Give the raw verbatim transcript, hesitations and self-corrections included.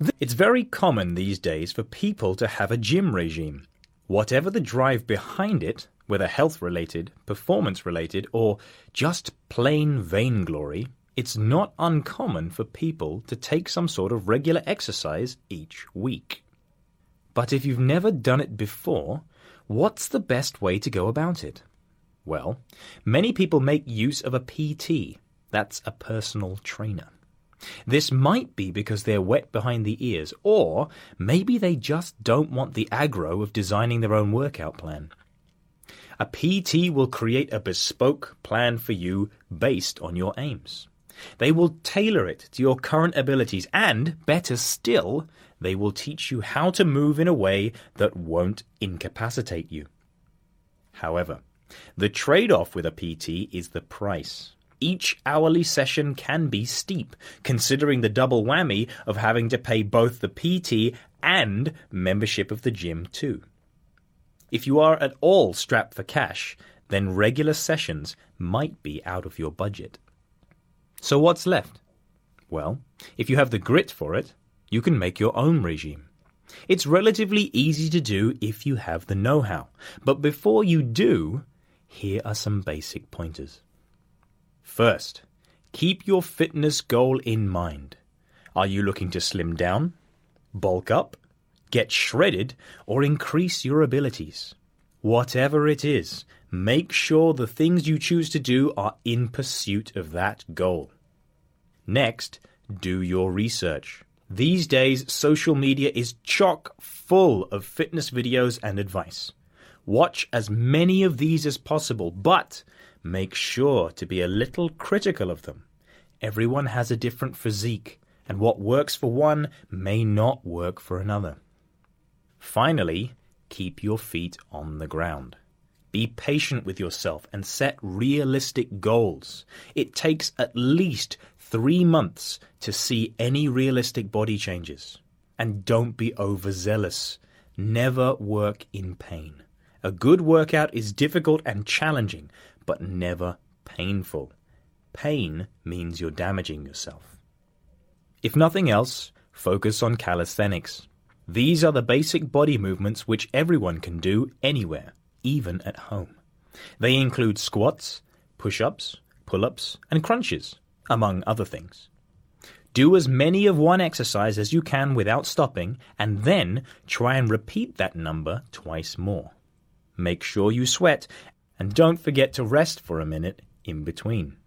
It's very common these days for people to have a gym regime. Whatever the drive behind it, whether health-related, performance-related, or just plain vainglory, it's not uncommon for people to take some sort of regular exercise each week. But if you've never done it before, what's the best way to go about it? Well, many people make use of a P T, that's a personal trainer. This might be because they're wet behind the ears, or maybe they just don't want the aggro of designing their own workout plan. A P T will create a bespoke plan for you based on your aims. They will tailor it to your current abilities and, better still, they will teach you how to move in a way that won't incapacitate you. However, the trade-off with a P T is the price. Each hourly session can be steep, considering the double whammy of having to pay both the P T and membership of the gym too. If you are at all strapped for cash, then regular sessions might be out of your budget. So what's left? Well, if you have the grit for it, you can make your own regime. It's relatively easy to do if you have the know-how, but before you do, here are some basic pointers. First, keep your fitness goal in mind. Are you looking to slim down, bulk up, get shredded, or increase your abilities? Whatever it is, make sure the things you choose to do are in pursuit of that goal. Next, do your research. These days, social media is chock full of fitness videos and advice. Watch as many of these as possible, but make sure to be a little critical of them. Everyone has a different physique, and what works for one may not work for another. Finally, keep your feet on the ground. Be patient with yourself and set realistic goals. It takes at least three months to see any realistic body changes. And don't be overzealous. Never work in pain. A good workout is difficult and challenging, but never painful. Pain means you're damaging yourself. If nothing else, focus on calisthenics. These are the basic body movements which everyone can do anywhere, even at home. They include squats, push-ups, pull-ups, and crunches, among other things. Do as many of one exercise as you can without stopping, and then try and repeat that number twice more. Make sure you sweat, and don't forget to rest for a minute in between.